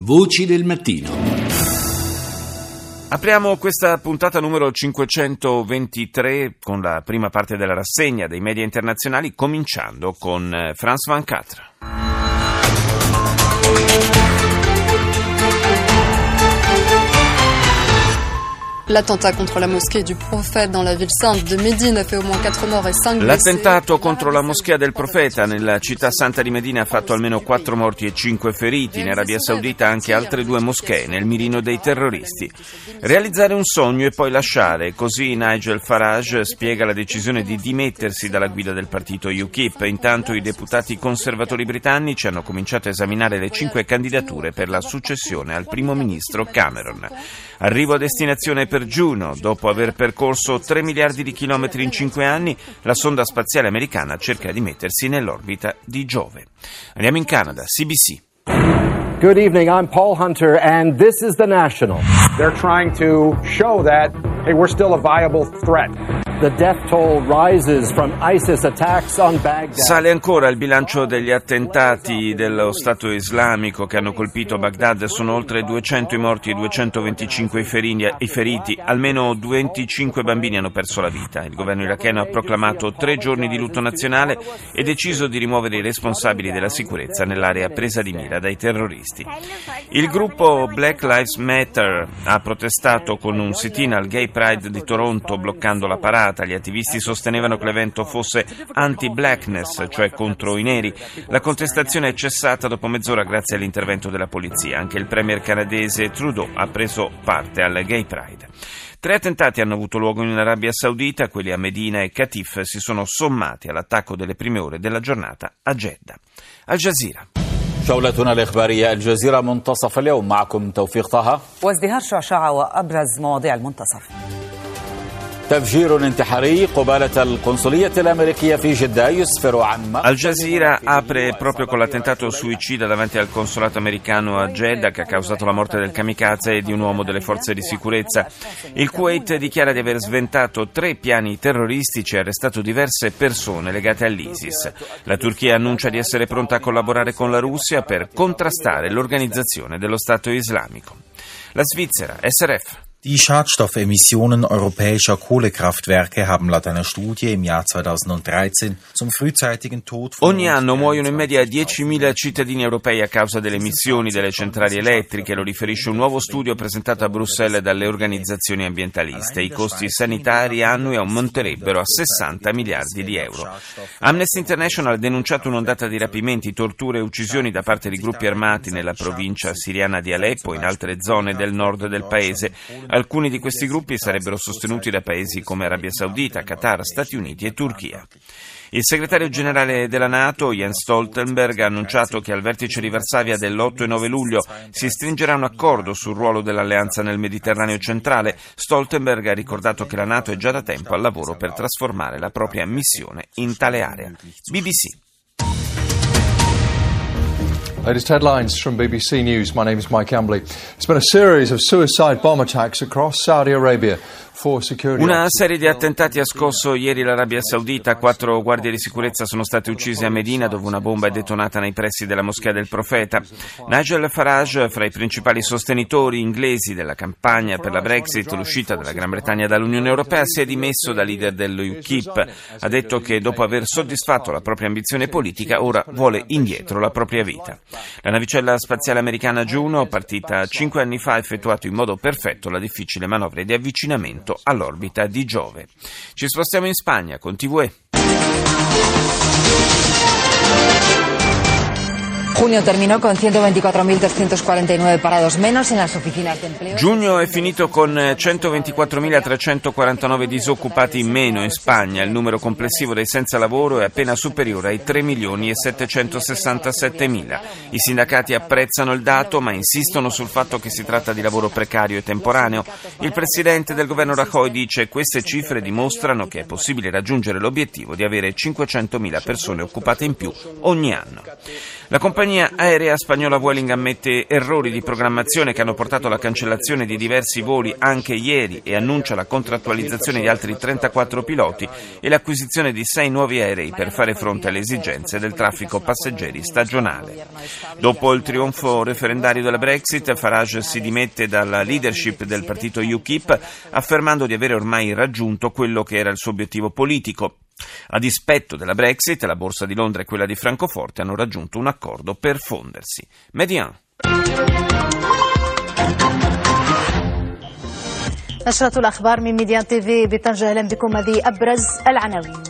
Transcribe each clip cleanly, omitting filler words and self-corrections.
Voci del mattino. Apriamo questa puntata numero 523 con la prima parte della rassegna dei media internazionali, cominciando con France 24. L'attentat contre la moschea du Prophète dans la ville sainte de Médine a fait au moins 4 morts et 5 blessés. L'attentato contro la moschea del Profeta nella città santa di Medina ha fatto almeno 4 morti e 5 feriti. In Arabia Saudita anche altre 2 moschee nel mirino dei terroristi. Realizzare un sogno e poi lasciare, così Nigel Farage spiega la decisione di dimettersi dalla guida del partito UKIP. Intanto i deputati conservatori britannici hanno cominciato a esaminare le 5 candidature per la successione al primo ministro Cameron. Arrivo a destinazione per Juno. Dopo aver percorso 3 miliardi di chilometri in 5 anni, la sonda spaziale americana cerca di mettersi nell'orbita di Giove. Andiamo in Canada, CBC. Good evening, I'm Paul Hunter and this is The National. They're trying to show that, hey, we're still a viable threat. The death toll rises from ISIS attacks on Baghdad. Sale ancora il bilancio degli attentati dello Stato islamico che hanno colpito Baghdad. Sono oltre 200 i morti e 225 i feriti. Almeno 25 bambini hanno perso la vita. Il governo iracheno ha proclamato 3 giorni di lutto nazionale e deciso di rimuovere i responsabili della sicurezza nell'area presa di mira dai terroristi. Il gruppo Black Lives Matter ha protestato con un sit-in al Gay Pride di Toronto, bloccando la parata. Gli attivisti sostenevano che l'evento fosse anti-blackness, cioè contro i neri. La contestazione è cessata dopo mezz'ora grazie all'intervento della polizia. Anche il premier canadese Trudeau ha preso parte al Gay Pride. 3 attentati hanno avuto luogo in Arabia Saudita. Quelli a Medina e Qatif si sono sommati all'attacco delle prime ore della giornata a Jeddah. Al Jazeera. جولتنا الإخبارية الجزيرة منتصف اليوم معكم توفيق طه وازدهار شعشعة وأبرز مواضيع المنتصف. تفجير انتحاري قبالة القنصلية الأمريكية في جدة يسفر عن Al Jazeera apre proprio con l'attentato suicida davanti al consolato americano a Jeddah che ha causato la morte del kamikaze e di un uomo delle forze di sicurezza. Il Kuwait dichiara di aver sventato 3 piani terroristici e arrestato diverse persone legate all'ISIS. La Turchia annuncia di essere pronta a collaborare con la Russia per contrastare l'organizzazione dello Stato islamico. La Svizzera, SRF. Die Schadstoffemissionen europäischer Kohlekraftwerke haben laut einer Studie im Jahr 2013 zum frühzeitigen Tod von Ogni anno muoiono in media 10.000 cittadini europei a causa delle emissioni delle centrali elettriche, lo riferisce un nuovo studio presentato a Bruxelles dalle organizzazioni ambientaliste. I costi sanitari annui aumenterebbero a 60 miliardi di euro. Amnesty International ha denunciato un'ondata di rapimenti, torture e uccisioni da parte di gruppi armati nella provincia siriana di Aleppo e in altre zone del nord del paese. Alcuni di questi gruppi sarebbero sostenuti da paesi come Arabia Saudita, Qatar, Stati Uniti e Turchia. Il segretario generale della NATO, Jens Stoltenberg, ha annunciato che al vertice di Varsavia dell'8 e 9 luglio si stringerà un accordo sul ruolo dell'alleanza nel Mediterraneo centrale. Stoltenberg ha ricordato che la NATO è già da tempo al lavoro per trasformare la propria missione in tale area. BBC. Latest headlines from BBC News. My name is Mike Ambley. It's been a series of suicide bomb attacks across Saudi Arabia. Una serie di attentati ha scosso ieri l'Arabia Saudita. 4 guardie di sicurezza sono state uccise a Medina, dove una bomba è detonata nei pressi della moschea del Profeta. Nigel Farage, fra i principali sostenitori inglesi della campagna per la Brexit, l'uscita della Gran Bretagna dall'Unione Europea, si è dimesso da leader dell'UKIP. Ha detto che dopo aver soddisfatto la propria ambizione politica, ora vuole indietro la propria vita. La navicella spaziale americana Juno, partita 5 anni fa, ha effettuato in modo perfetto la difficile manovra di avvicinamento all'orbita di Giove. Ci spostiamo in Spagna con TVE. Junio terminó con 124.349 parados menos en las oficinas de empleo. Giugno è finito con 124.349 disoccupati in meno in Spagna. Il numero complessivo dei senza lavoro è appena superiore ai 3.767.000. I sindacati apprezzano il dato, ma insistono sul fatto che si tratta di lavoro precario e temporaneo. Il presidente del governo Rajoy dice: queste cifre dimostrano che è possibile raggiungere l'obiettivo di avere 500.000 persone occupate in più ogni anno. La compagnia compagnia aerea spagnola Vueling ammette errori di programmazione che hanno portato alla cancellazione di diversi voli anche ieri e annuncia la contrattualizzazione di altri 34 piloti e l'acquisizione di 6 nuovi aerei per fare fronte alle esigenze del traffico passeggeri stagionale. Dopo il trionfo referendario della Brexit, Farage si dimette dalla leadership del partito UKIP affermando di avere ormai raggiunto quello che era il suo obiettivo politico. A dispetto della Brexit, la borsa di Londra e quella di Francoforte hanno raggiunto un accordo per fondersi. Median. نشرة الأخبار من ميديان تيفي بطنجة. أهلا بكم. هذه أبرز العناوين.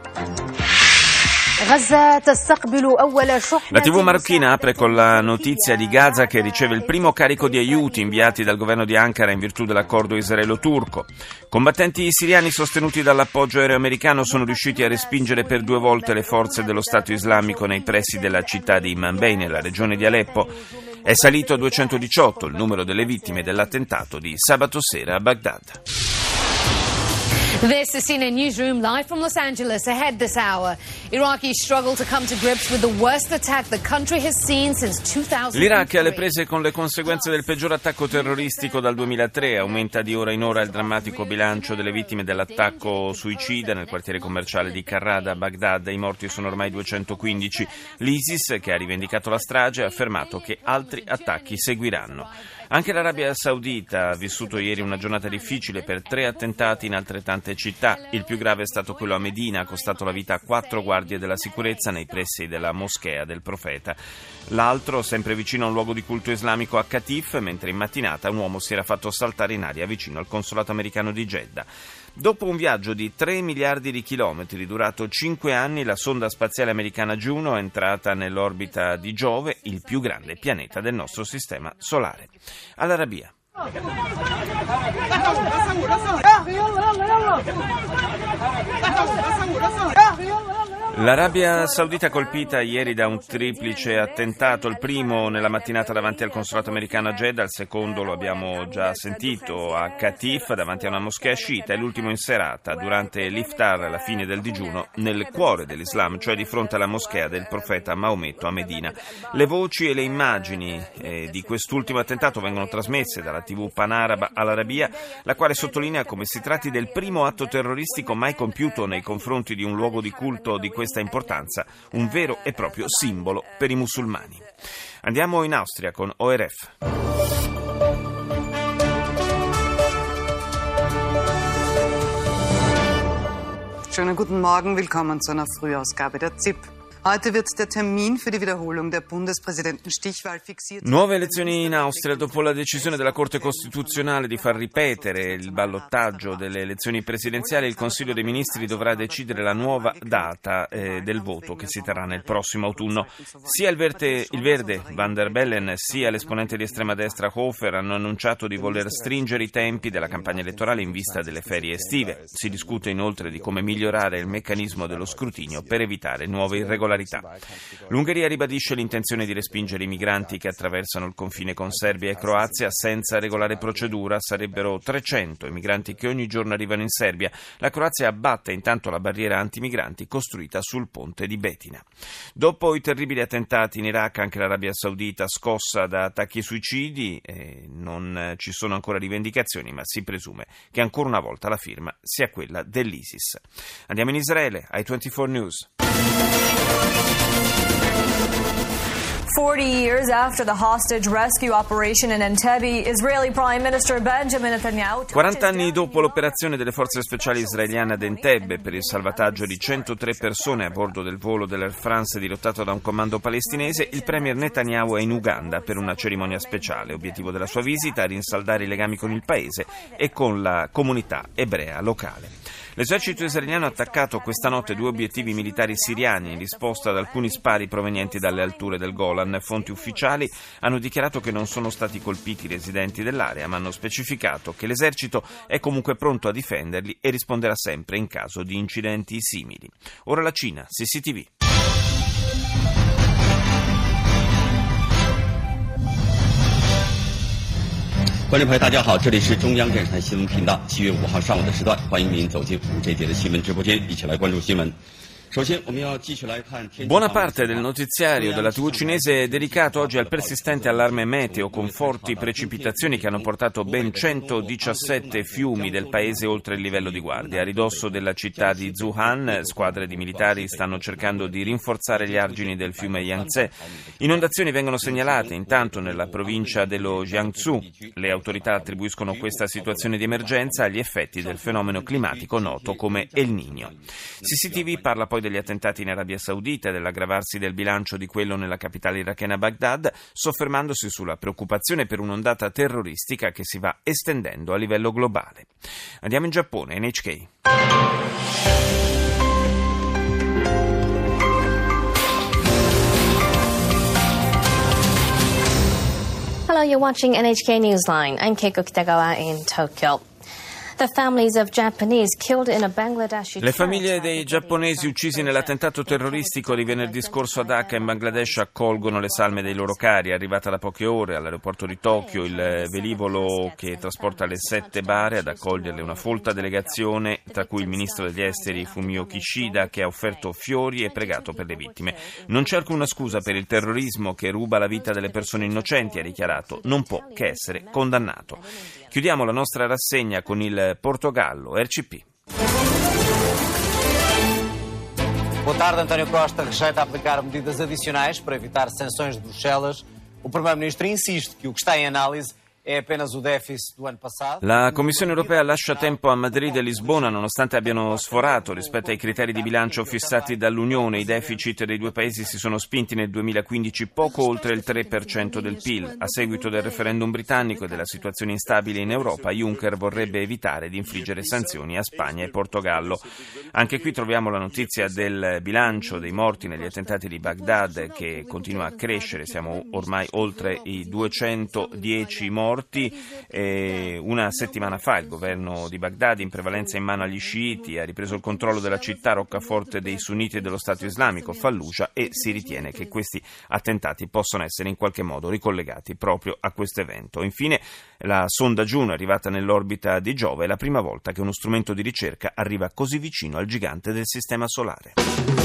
La TV marocchina apre con la notizia di Gaza che riceve il primo carico di aiuti inviati dal governo di Ankara in virtù dell'accordo israelo-turco. Combattenti siriani sostenuti dall'appoggio aereo americano sono riusciti a respingere per 2 volte le forze dello Stato islamico nei pressi della città di Manbij, nella regione di Aleppo. È salito a 218 il numero delle vittime dell'attentato di sabato sera a Baghdad. This is CNN Newsroom live from Los Angeles. Ahead this hour, Iraqis struggle to come to grips with the worst attack the country has seen since 2003. L'Iraq è alle prese con le conseguenze del peggior attacco terroristico dal 2003. Aumenta di ora in ora il drammatico bilancio delle vittime dell'attacco suicida nel quartiere commerciale di Karrada a Baghdad. I morti sono ormai 215. L'ISIS, che ha rivendicato la strage, ha affermato che altri attacchi seguiranno. Anche l'Arabia Saudita ha vissuto ieri una giornata difficile per 3 attentati in altrettante città. Il più grave è stato quello a Medina, ha costato la vita a 4 guardie della sicurezza nei pressi della moschea del profeta. L'altro, sempre vicino a un luogo di culto islamico a Qatif, mentre in mattinata un uomo si era fatto saltare in aria vicino al consolato americano di Jeddah. Dopo un viaggio di 3 miliardi di chilometri durato 5 anni, la sonda spaziale americana Juno è entrata nell'orbita di Giove, il più grande pianeta del nostro sistema solare. All'Arabia. L'Arabia Saudita colpita ieri da un triplice attentato, il primo nella mattinata davanti al consolato americano a Jeddah, il secondo lo abbiamo già sentito a Qatif davanti a una moschea sciita e l'ultimo in serata durante l'iftar, la fine del digiuno, nel cuore dell'Islam, cioè di fronte alla moschea del profeta Maometto a Medina. Le voci e le immagini di quest'ultimo attentato vengono trasmesse dalla TV panaraba all'Arabia, la quale sottolinea come si tratti del primo atto terroristico mai compiuto nei confronti di un luogo di culto di questa importanza, un vero e proprio simbolo per i musulmani. Andiamo in Austria con ORF. Schönen guten Morgen, willkommen zu einer Frühausgabe der ZIP. Heute wird der Termin für die Wiederholung der Bundespräsidenten-Stichwahl fixiert. Nuove elezioni in Austria. Dopo la decisione della Corte Costituzionale di far ripetere il ballottaggio delle elezioni presidenziali, il Consiglio dei Ministri dovrà decidere la nuova data del voto che si terrà nel prossimo autunno. Sia il verde Van der Bellen sia l'esponente di estrema destra Hofer hanno annunciato di voler stringere i tempi della campagna elettorale in vista delle ferie estive. Si discute inoltre di come migliorare il meccanismo dello scrutinio per evitare nuove irregolarità. L'Ungheria ribadisce l'intenzione di respingere i migranti che attraversano il confine con Serbia e Croazia senza regolare procedura. Sarebbero 300 i migranti che ogni giorno arrivano in Serbia. La Croazia abbatte intanto la barriera antimigranti costruita sul ponte di Betina. Dopo i terribili attentati in Iraq, anche l'Arabia Saudita scossa da attacchi e suicidi. Non ci sono ancora rivendicazioni, ma si presume che ancora una volta la firma sia quella dell'ISIS. Andiamo in Israele, ai 24 News. 40 years after the hostage rescue operation in Entebbe, Israeli Prime Minister Benjamin Netanyahu... 40 anni dopo l'operazione delle forze speciali israeliane ad Entebbe per il salvataggio di 103 persone a bordo del volo dell'Air France dirottato da un comando palestinese, il premier Netanyahu è in Uganda per una cerimonia speciale. Obiettivo della sua visita: rinsaldare i legami con il paese e con la comunità ebrea locale. L'esercito israeliano ha attaccato questa notte 2 obiettivi militari siriani in risposta ad alcuni spari provenienti dalle alture del Golan. Fonti ufficiali hanno dichiarato che non sono stati colpiti i residenti dell'area, ma hanno specificato che l'esercito è comunque pronto a difenderli e risponderà sempre in caso di incidenti simili. Ora la Cina, CCTV. 观众朋友，大家好，这里是中央电视台新闻频道。7月5号上午的时段，欢迎您走进5这节的新闻直播间，一起来关注新闻。 Buona parte del notiziario della TV cinese è dedicato oggi al persistente allarme meteo con forti precipitazioni che hanno portato ben 117 fiumi del paese oltre il livello di guardia. A ridosso della città di Zhuhai, squadre di militari stanno cercando di rinforzare gli argini del fiume Yangtze. Inondazioni vengono segnalate intanto nella provincia dello Jiangsu. Le autorità attribuiscono questa situazione di emergenza agli effetti del fenomeno climatico noto come El Niño. CCTV parla poi degli attentati in Arabia Saudita e dell'aggravarsi del bilancio di quello nella capitale irachena Baghdad, soffermandosi sulla preoccupazione per un'ondata terroristica che si va estendendo a livello globale. Andiamo in Giappone, NHK. Hello, you're watching NHK Newsline. I'm Keiko Kitagawa in Tokyo. Le famiglie dei giapponesi uccisi nell'attentato terroristico di venerdì scorso a Dhaka in Bangladesh accolgono le salme dei loro cari. È arrivata da poche ore all'aeroporto di Tokyo il velivolo che trasporta le 7 bare ad accoglierle una folta delegazione, tra cui il ministro degli esteri Fumio Kishida, che ha offerto fiori e pregato per le vittime. Non c'è alcuna scusa per il terrorismo che ruba la vita delle persone innocenti, ha dichiarato. Non può che essere condannato. Chiudiamo la nostra rassegna con il Portogallo, RCP. Boa tarde, António Costa rejeita aplicar medidas adicionais para evitar sanções de Bruxelas. O Primeiro-Ministro insiste que o que está em análise è apenas o déficit do anno passato. La Commissione europea lascia tempo a Madrid e Lisbona nonostante abbiano sforato rispetto ai criteri di bilancio fissati dall'Unione. I deficit dei due paesi si sono spinti nel 2015 poco oltre il 3% del PIL. A seguito del referendum britannico e della situazione instabile in Europa, Juncker vorrebbe evitare di infliggere sanzioni a Spagna e Portogallo. Anche qui troviamo la notizia del bilancio dei morti negli attentati di Baghdad che continua a crescere. Siamo ormai oltre i 210 morti. Una settimana fa il governo di Baghdad, in prevalenza in mano agli sciiti, ha ripreso il controllo della città roccaforte dei sunniti e dello Stato islamico, Fallujah, e si ritiene che questi attentati possano essere in qualche modo ricollegati proprio a questo evento. Infine, la sonda Juno è arrivata nell'orbita di Giove, è la prima volta che uno strumento di ricerca arriva così vicino al gigante del sistema solare.